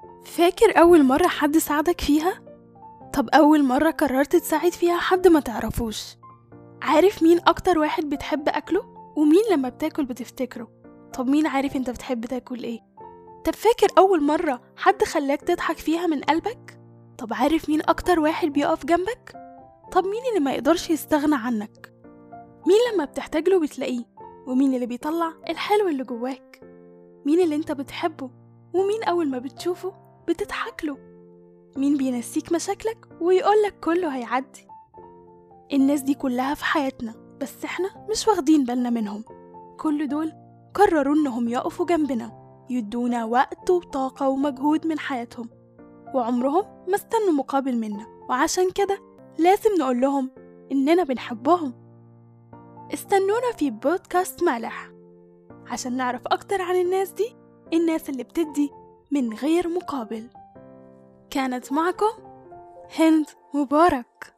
فاكر أول مرة حد ساعدك فيها؟ طب أول مرة قررت تساعد فيها حد ما تعرفوش؟ عارف مين أكتر واحد بتحب أكله؟ ومين لما بتاكل بتفتكره؟ طب مين عارف انت بتحب تاكل ايه؟ طب فاكر أول مرة حد خلاك تضحك فيها من قلبك؟ طب عارف مين أكتر واحد بيقف جنبك؟ طب مين اللي ما يقدرش يستغنى عنك؟ مين لما بتحتاج له بتلاقيه؟ ومين اللي بيطلع الحلو اللي جواك؟ مين اللي انت بتحبه؟ ومين أول ما بتشوفه بتضحك له؟ مين بينسيك مشاكلك ويقولك كله هيعدي؟ الناس دي كلها في حياتنا، بس احنا مش واخدين بالنا منهم. كل دول قرروا انهم يقفوا جنبنا، يدونا وقت وطاقة ومجهود من حياتهم، وعمرهم ما استنوا مقابل منا، وعشان كده لازم نقول لهم اننا بنحبهم. استنونا في بودكاست مالح عشان نعرف اكتر عن الناس دي، الناس اللي بتدي من غير مقابل. كانت معكم هند مبارك.